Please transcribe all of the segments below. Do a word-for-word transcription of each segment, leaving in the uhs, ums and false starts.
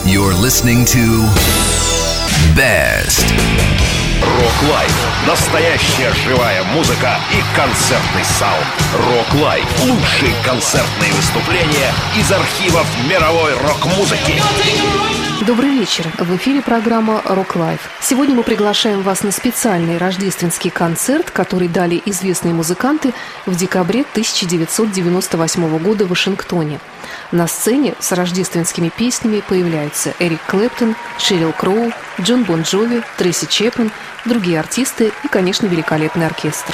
You're listening to Best. Rock Live. Настоящая живая музыка и концертный саунд. Rock Live. Лучшие концертные выступления из архивов мировой рок-музыки. Добрый вечер. В эфире программа Rock Live. Сегодня мы приглашаем вас на специальный рождественский концерт, который дали известные музыканты в декабре тысяча девятьсот девяносто восьмого года в Вашингтоне. На сцене с рождественскими песнями появляются Эрик Клэптон, Шерил Кроу, Джон Бон Джови, Трейси Чепмен, другие артисты и, конечно, великолепный оркестр.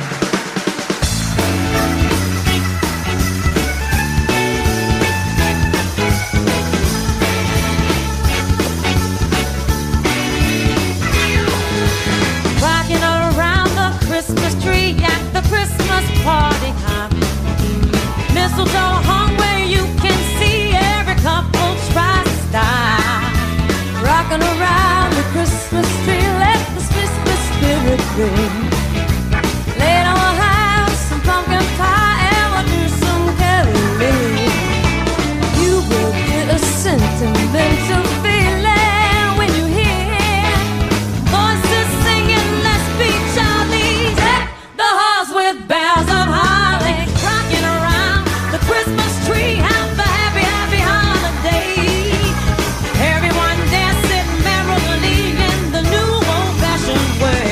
Later we'll have some pumpkin pie and we'll do some caroling. You will get a sentimental feeling when you hear voices singing "Let's Be Charlies." Deck the halls with boughs of holly, rocking around the Christmas tree. Have a happy, happy holiday. Everyone dancing merrily in the new old-fashioned way.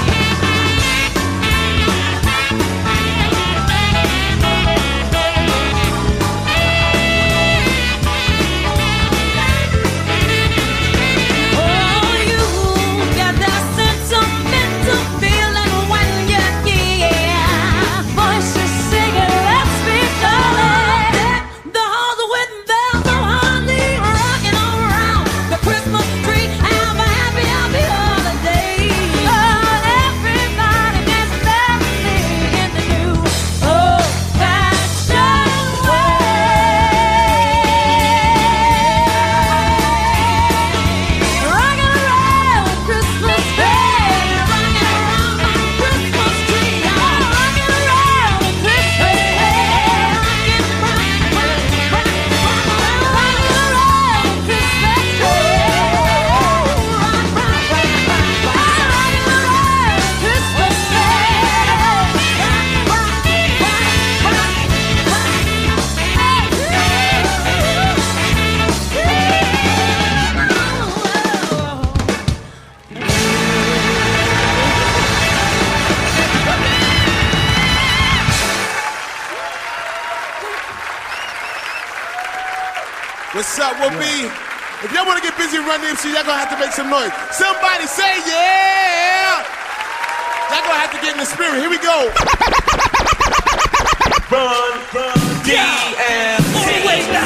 What's up, we'll be, if y'all want to get busy running the M C, y'all gonna have to make some noise. Somebody say yeah! Y'all gonna have to get in the spirit. Here we go. Run, run, D M C.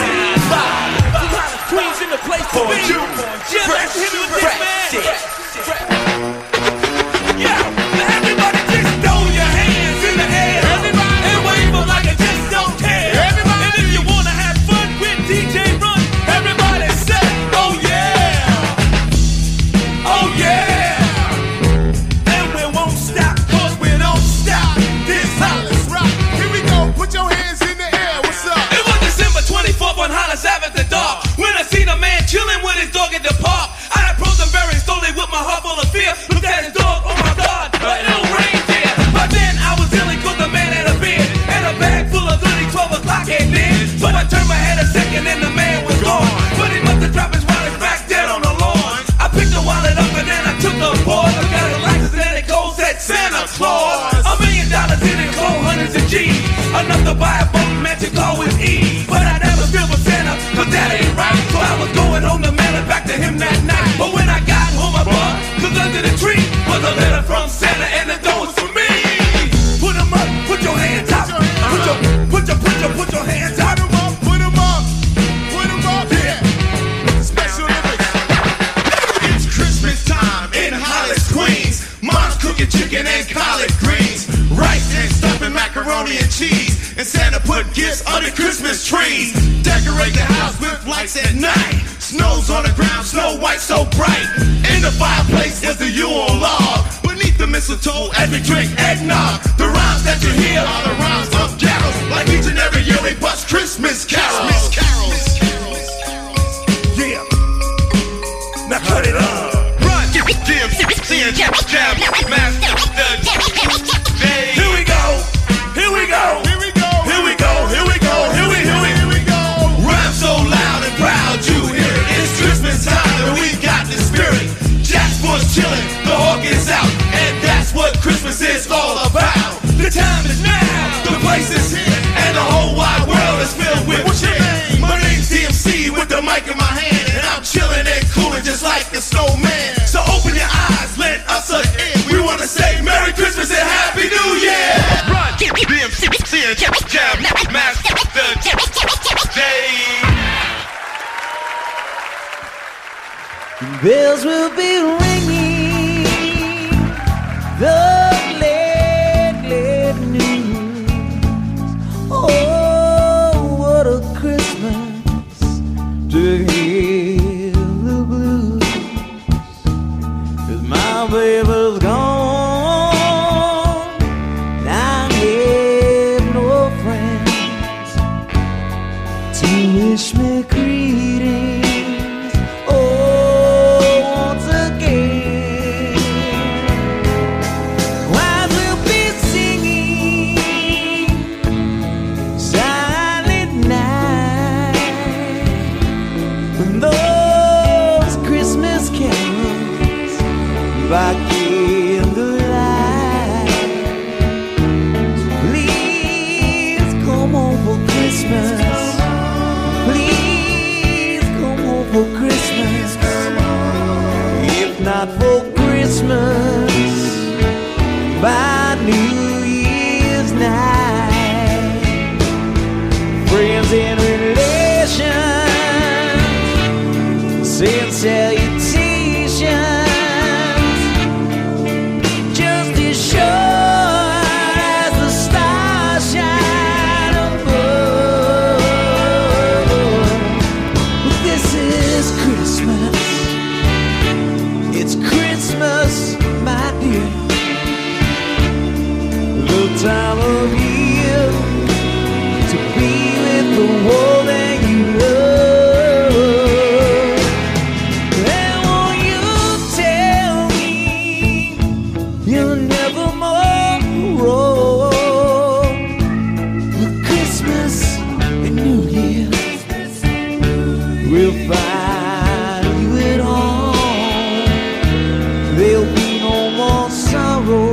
Queens in the place to be. Yeah, let's hit it with this, man. Yeah, now everybody just throw your hands in the air. Everybody, and wave them like you just don't care. Everybody, and if you wanna have fun with D J Run, everybody say, oh yeah, oh yeah. And we won't stop, cause we don't stop. This Hollis rock. Here we go. Put your hands in the air. What's up? It was December twenty-fourth on Hollis Ave at the dark, when I seen a man chilling with his dog at the park. I approached him very slowly with my heart full of fear. Looked at his dog, oh my God, a little reindeer. But then I was dealing cause the man had a beard and a bag full of goodies. Twelve o'clock came in, so I turned my head a second and the man was gone. But he must have dropped his wallet back dead on the lawn. I picked the wallet up and then I took the board. I got a license and it goes at Santa Claus. A million dollars in it, cold hundreds of G's, enough to buy a boat mansion call with ease. But I never stood with Santa, cause that ain't right. So I was going home to mail it back to him that night. But when I got home I bought, cause under the tree was a letter from Santa and the door was for me. Put 'em up, put your hands up. Put your, put your, put your, put your hands up. Put 'em up, put 'em up, put 'em up, yeah. Special Olympics. It's Christmas time in Hollis, Queens. Mom's cooking chicken and collard greens, rice and stuffing macaroni and cheese. And Santa put gifts under Christmas trees. Decorate the house with lights at night. Snow's on the ground, snow white so bright. In the fireplace is the Yule log. Beneath the mistletoe as we drink eggnog. The rhymes that you hear are the rhymes of carols. Like each and every year we bust Christmas carols. Christmas carols. Yeah. bells will be ringing the glad, glad news. Oh, what a Christmas to hear the blues. 'Cause my baby's gone, and I have no friends to wish me greetings. By candlelight, please come home for Christmas. Please come home for Christmas. If not for Christmas, by New Year's night, friends and relations send salutations. Time of year to be with the one that you love. And won't you tell me you'll never more roll with Christmas and New Year? We'll find you at home. There'll be no more sorrow.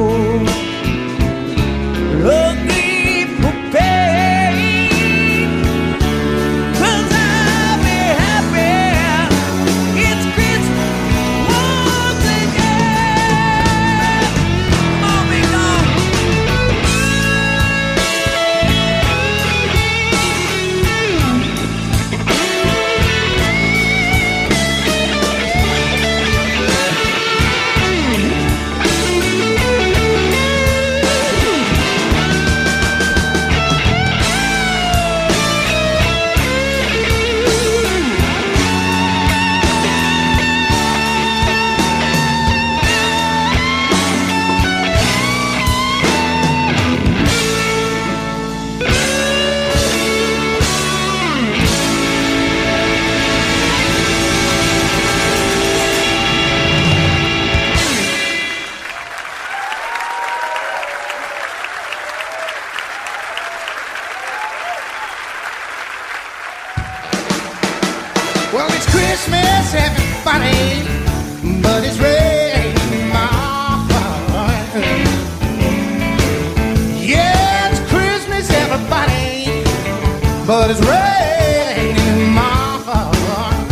But it's raining in my heart.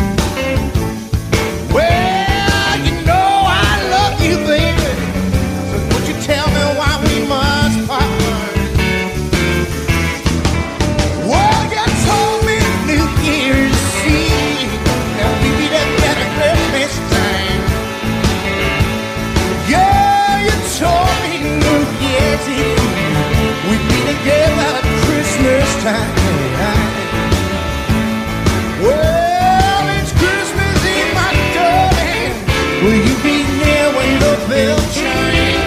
Well, you know I love you, baby. So would you tell me why we must part? Well, you told me New Year's Eve that we'd be together Christmas time. Yeah, you told me New Year's Eve we'd be together at Christmas time. Well, it's Christmas Eve, my darling. Will you be there when the bell chimes?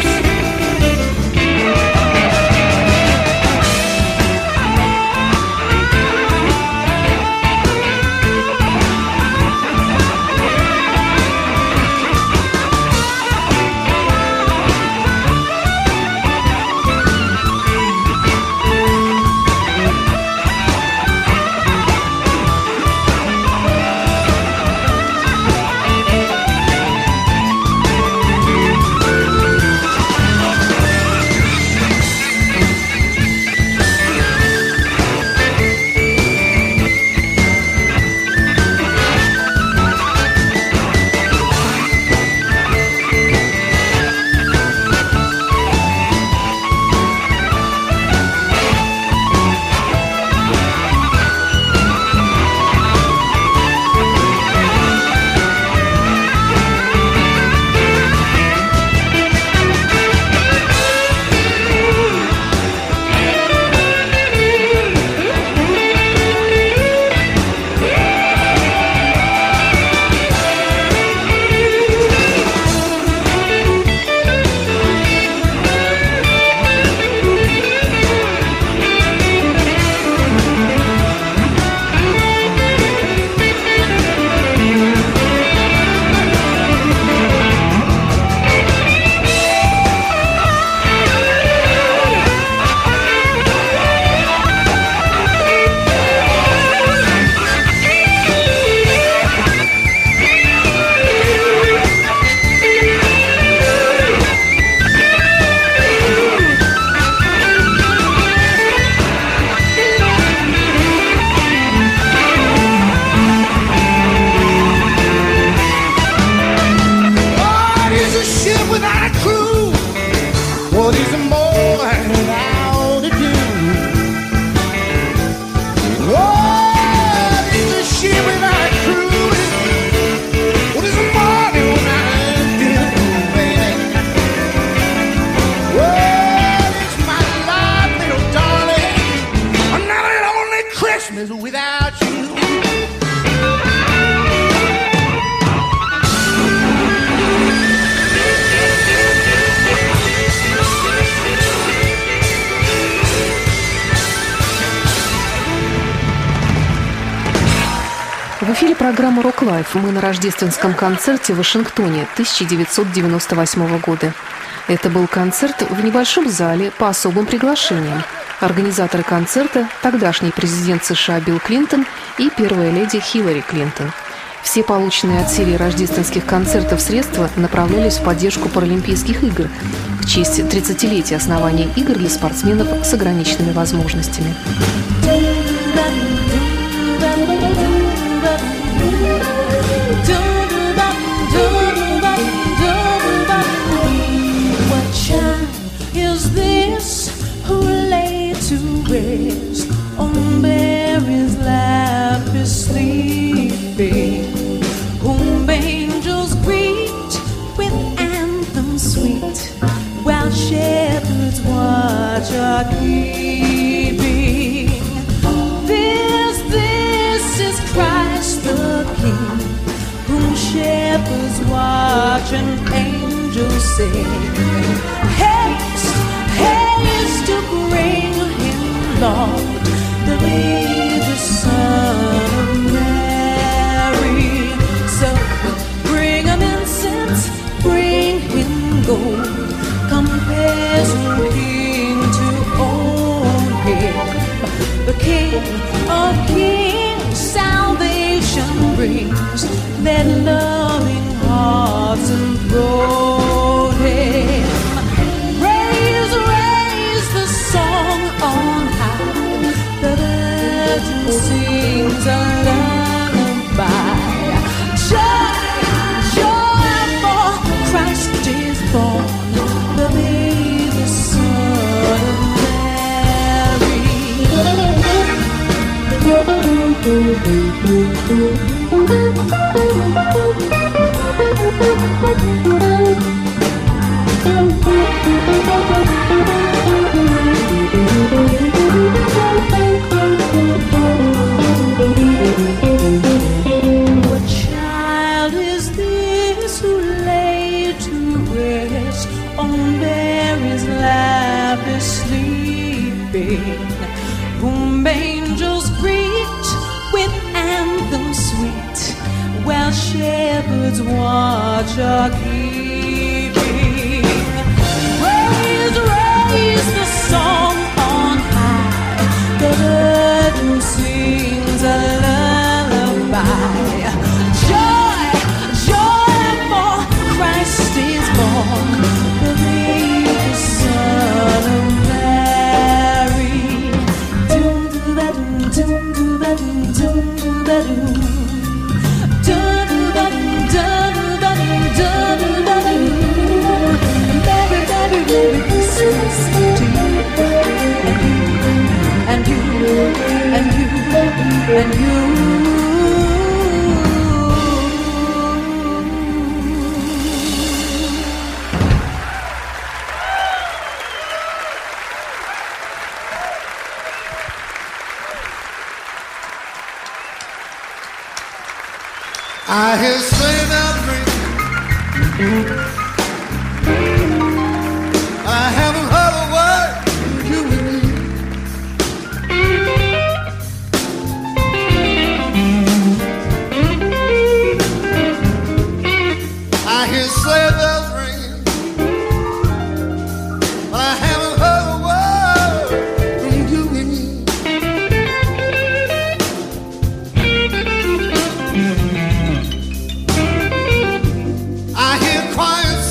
В эфире программа «Рок Лайф». Мы на рождественском концерте в Вашингтоне тысяча девятьсот девяносто восьмого года. Это был концерт в небольшом зале по особым приглашениям. Организаторы концерта – тогдашний президент США Билл Клинтон и первая леди Хиллари Клинтон. Все полученные от серии рождественских концертов средства направлялись в поддержку Паралимпийских игр в честь тридцатилетия основания игр для спортсменов с ограниченными возможностями. What child is this who lay to rest on Mary's lap is sleeping, whom angels greet with anthems sweet, while shepherds watch are keeping? This, this is Christ the King, whom shepherds watch and angels sing. Haste, haste to bring him, Lord, the baby Son of Mary. So bring him incense, bring him gold, compare some king to own him. The King of Kings salvation brings, let loving hearts enthrone him. Raise, raise the song on high, the virgin sings a lullaby. Joy, joy, for Christ is born, the baby Son of Mary. What child is this who lay to rest on Mary's lap is sleeping, whom angels greet with anthems sweet, while shepherds watch are keeping? Raise, raise the song on high, the virgin sings a lullaby. Joy, joy, for Christ is born, the baby Son of Mary. Doom do ba doom, doom do ba doom, doom do ba doom. Doom do ba doom, doom do ba doom, doom do ba doom. Merry, merry, merry Christmas to you and you and you and you. I hear sleigh bells ring. I haven't heard a word from you and me. I hear sleigh bells ring, but I haven't heard a word from you and me. I hear choirs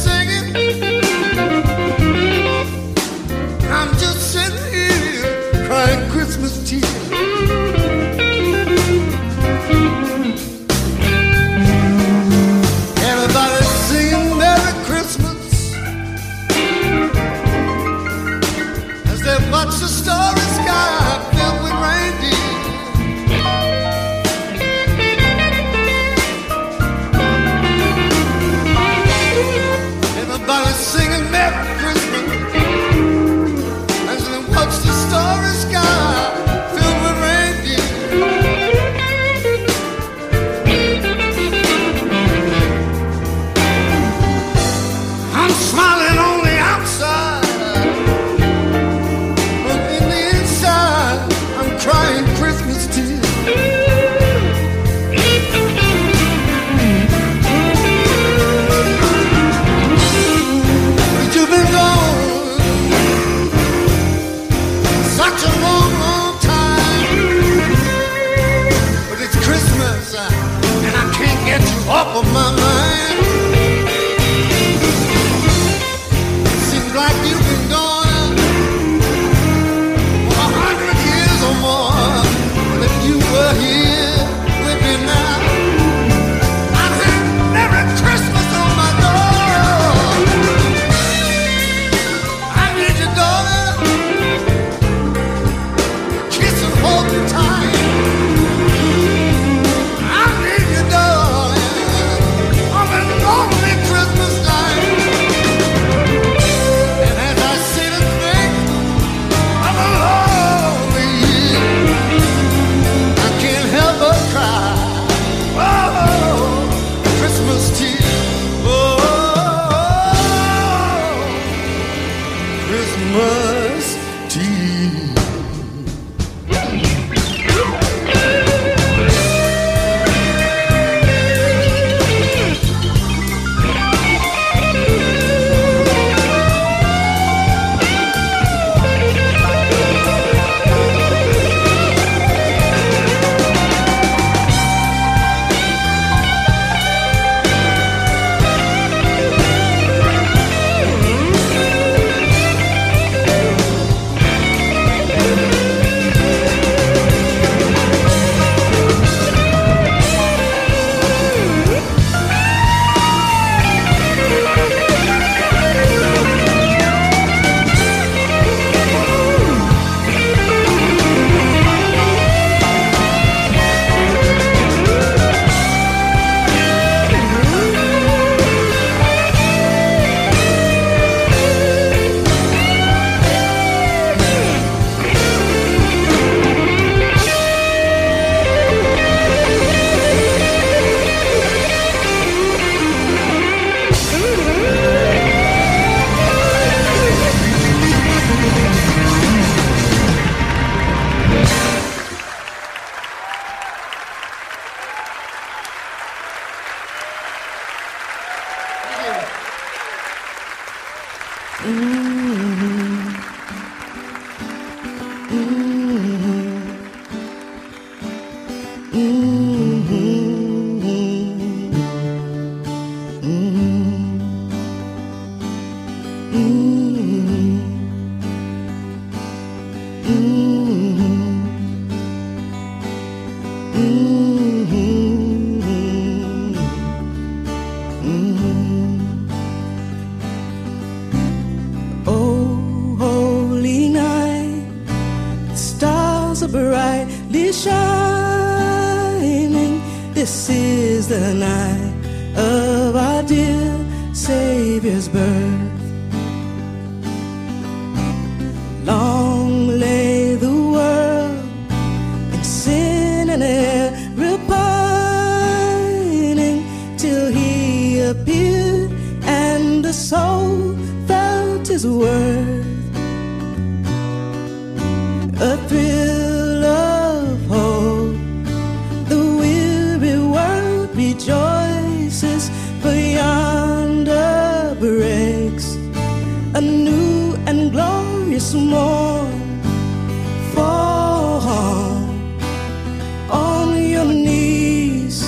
off of my mind. Seems like you've been gone for a hundred years or more, but you were here with me now. I've had Merry Christmas on my door. I need you, darling. Kiss and hold me tight. I need you, darling, on a lonely Christmas night. And as I sit and think of a lonely year, I can't help but cry. Oh, Christmas tears. Oh, Christmas tears. Oh, holy night, the stars are brightly shining. This is the night of our dear Savior's birth. Long lay the world in sin and every pining, till he appeared and the soul felt his worth. A thrill of hope, the weary world rejoices, for yonder breaks a new and glorious morn. Fall on your knees,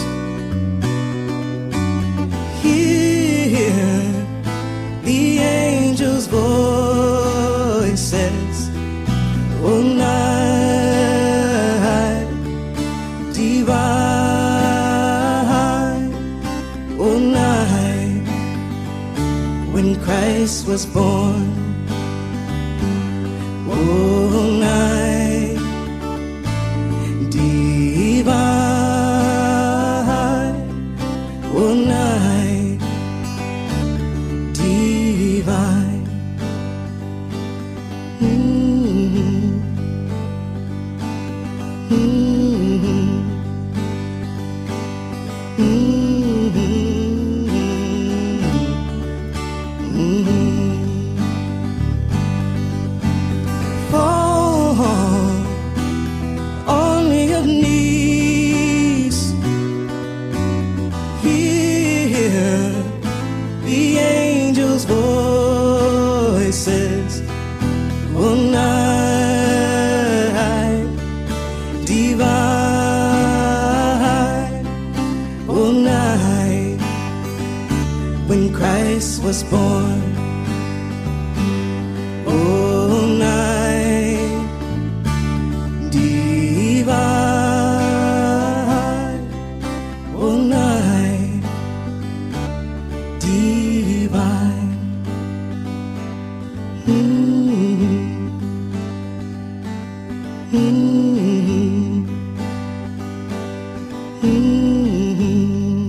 hear the angels' voices. Oh, night divine, oh, night when Christ was born. Oh, night divine, oh, night divine. Mm-hmm. Mm-hmm. Mm-hmm. For Christ was born. Oh, night divine, oh, night divine. Mm-hmm. Mm-hmm. Mm-hmm.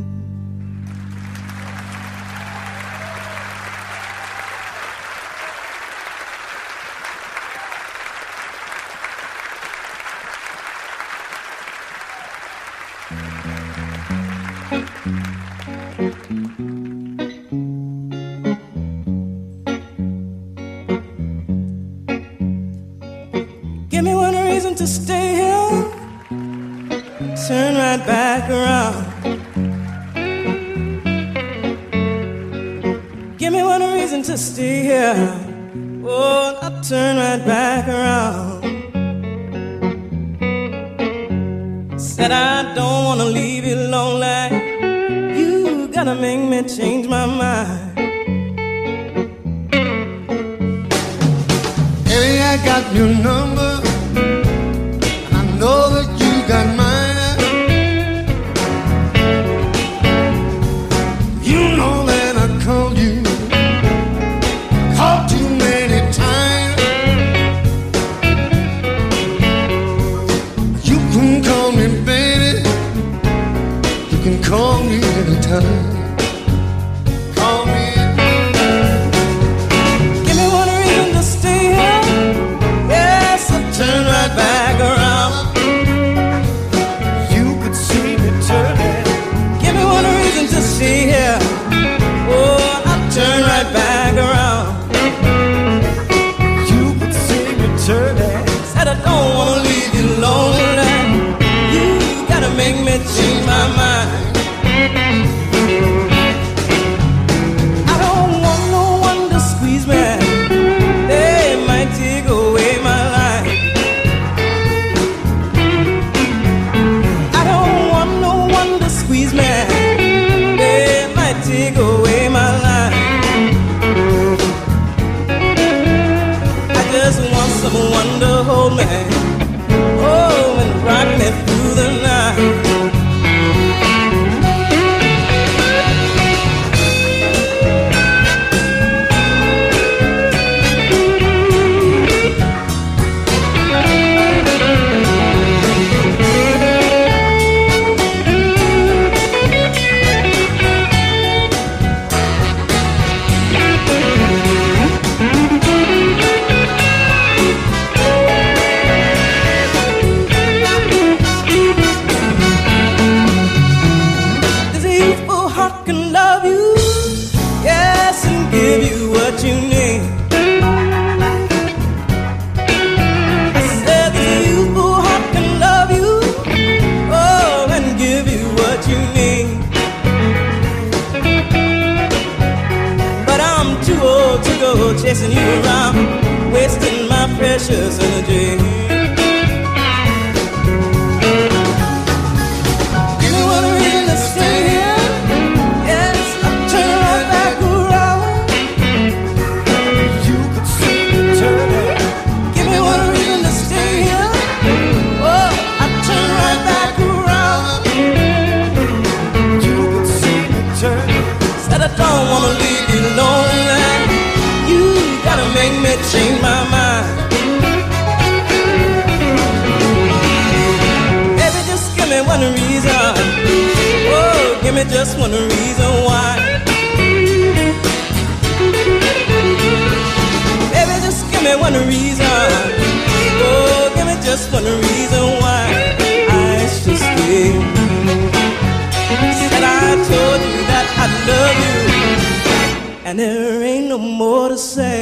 Give me one reason to stay here, turn right back around. Give me one reason to stay here, oh, I'll turn right back around. Said I don't wanna leave you lonely, you gotta make me change my mind. Hey, I got your number, and I know that you got mine. You know that I called you, called too many times. You can call me baby, you can call me anytime. Call me. Give me one reason to stay here, yes, I'll turn right back around. You could see me turning. Give me one reason to stay here, oh, I'll turn right back around. You could see me turning. Said I don't wanna leave you lonely, you gotta make me change my mind. I don't want no one to squeeze me, they might take away my life. I don't want no one to squeeze me, they might take away my life. I just want someone to hold me, oh, and rock me through the night. There's a youthful heart can love you, yes, and give you what you need. I said there's a youthful heart can love you, oh, and give you what you need. But I'm too old to go chasing you around, wasting my precious energy. Give me one reason to stay here, yes, I'll turn right back around. You could see me turning. Give me one reason to stay here, oh, I'll turn right back around. You could see me turning. Said I don't wanna leave you lonely, you gotta make me change my mind. Baby, just give me one reason, oh, give me just one reason why. Baby, just give me one reason, oh, give me just one reason why I should stay. Said I told you that I love you, and there ain't no more to say.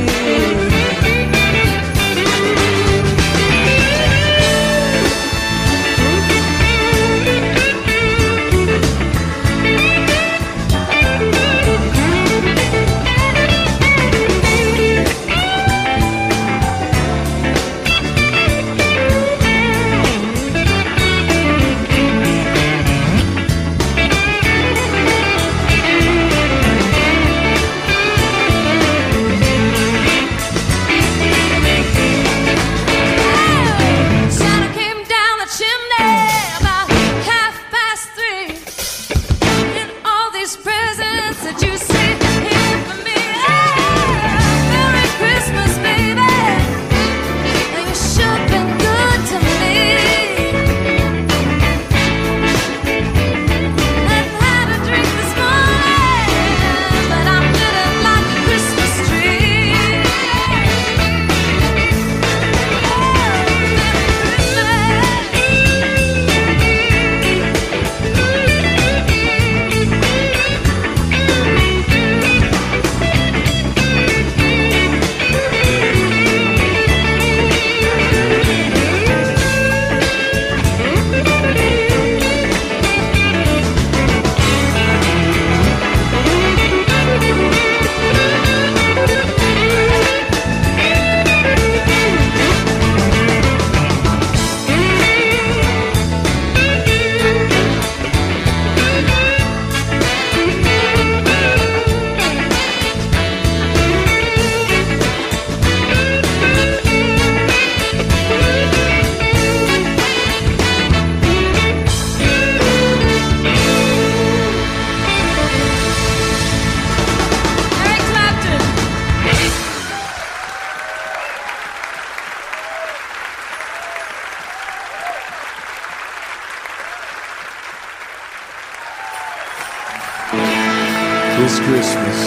This Christmas,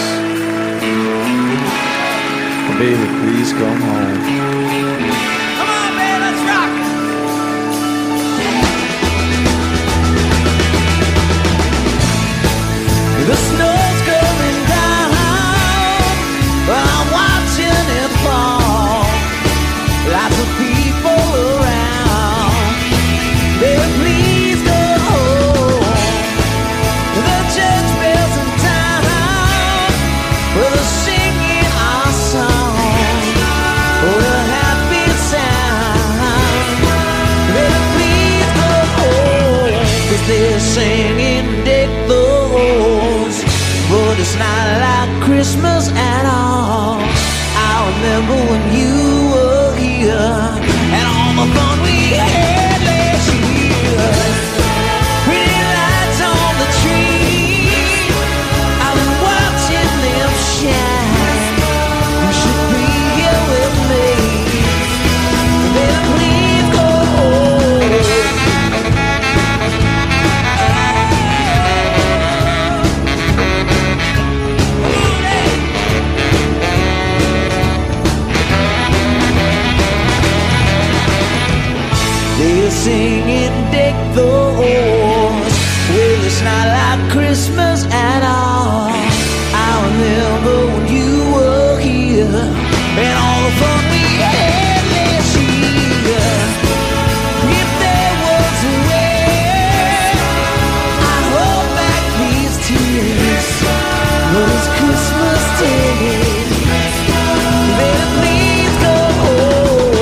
baby, please come home. Come on, man, let's rock it. The snow's coming down, I'm watching it fall. Lots of people around. Baby, please go home. The church bells in town, well, they're singing our song. What a happy sound. Baby, please go home. 'Cause they're singing Deck the Halls, but it's not like Christmas at all. I remember when you were here and all the fun we had last year. Pretty lights on the tree, I've been watching them shine. You should be here with me. Baby, please go home. They're singing Deck the Halls, well, it's not like Christmas at all. I remember when you were here and all the fun we had last year. If there was a way, I'd hold back these tears, but it's Christmas Day. Baby, please go home.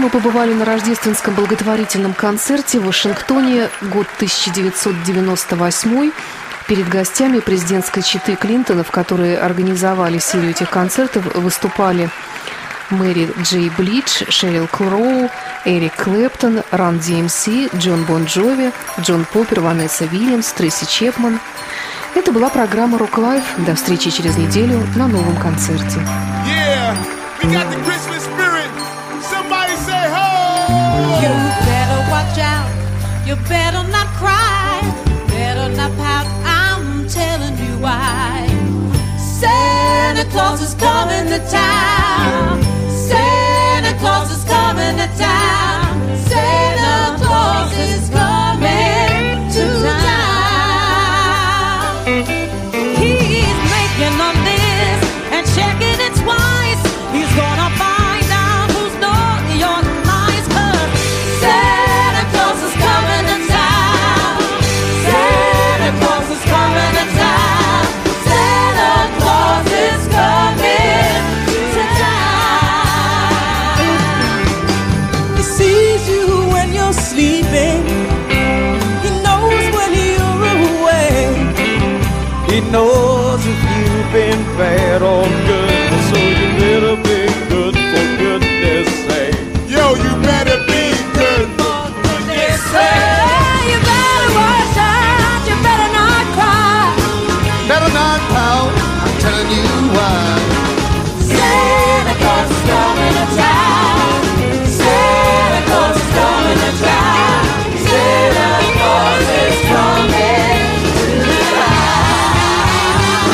мы побывали на рождественском благотворительном концерте в Вашингтоне, год тысяча девятьсот девяносто восьмой. Перед гостями президентской четы Клинтонов, которые организовали серию этих концертов, выступали Мэри Джей Блич, Шерил Кроу, Эрик Клэптон, Ран Ди Эм Си, Джон Бон Джови, Джон Поппер, Ванесса Вильямс, Трейси Чепман. Это была программа «Рок Лайф». До встречи через неделю на новом концерте. Yeah, we got the Christmas spirit. Somebody say ho! You better watch out. You better not cry. Better not pout. I'm telling you why. Santa Claus is coming to town. Santa Claus is coming to town. Santa Claus is coming to town. He's making a list and checking it twice. He's gonna find out who's naughty or nice. 'Cause Santa Claus is coming to town. Santa Claus is coming to town. Santa Claus is coming to town. He sees you when you're sleeping. He knows when you're awake. He knows if you've been bad or good, so you better be good for goodness sake. Yo, you better be good. For goodness sake, you better watch out. You better not cry. Better not pout, I'm telling you why. Santa Claus is coming to town. Santa Claus is coming to town. Santa Claus is coming to town.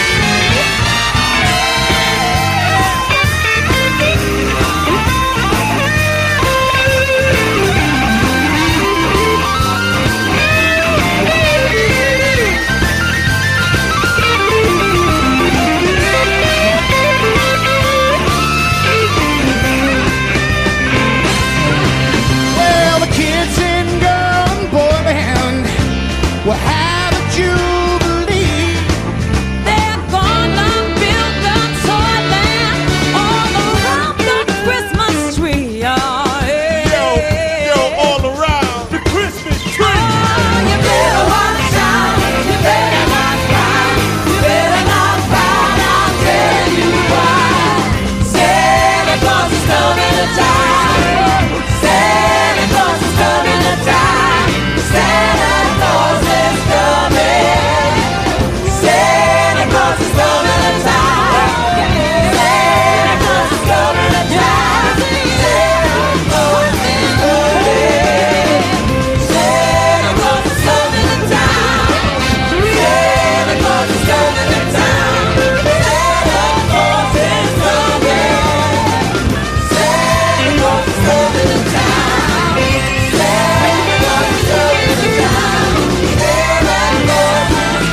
Well, the kids in girl and boy band will have a jubilee. They're gonna build a toyland all around the Christmas tree. Oh, yeah. Yo, yo, all around. The Christmas Oh, tree. you better watch out. You better not cry. You better not pout. I'll tell you why. Santa Claus is coming to town. Santa Claus is coming to town. Santa Claus is coming. Santa Claus is coming to town. Santa Claus is coming to town. Santa Claus is coming. Santa Claus is coming to town. Santa Claus is coming to town. Santa Claus is coming. Santa Claus is coming to town. Santa Claus is coming to town. Santa Claus is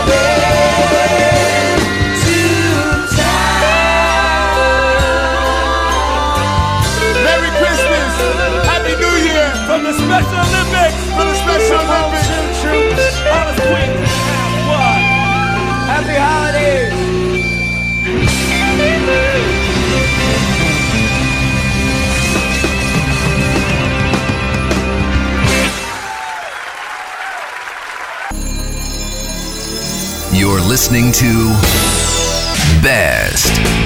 coming to town. Merry Christmas. Happy New Year. From the Special Olympics. For the Special Olympics. Troops. Honest Queen. One. Happy holidays! You're listening to Best.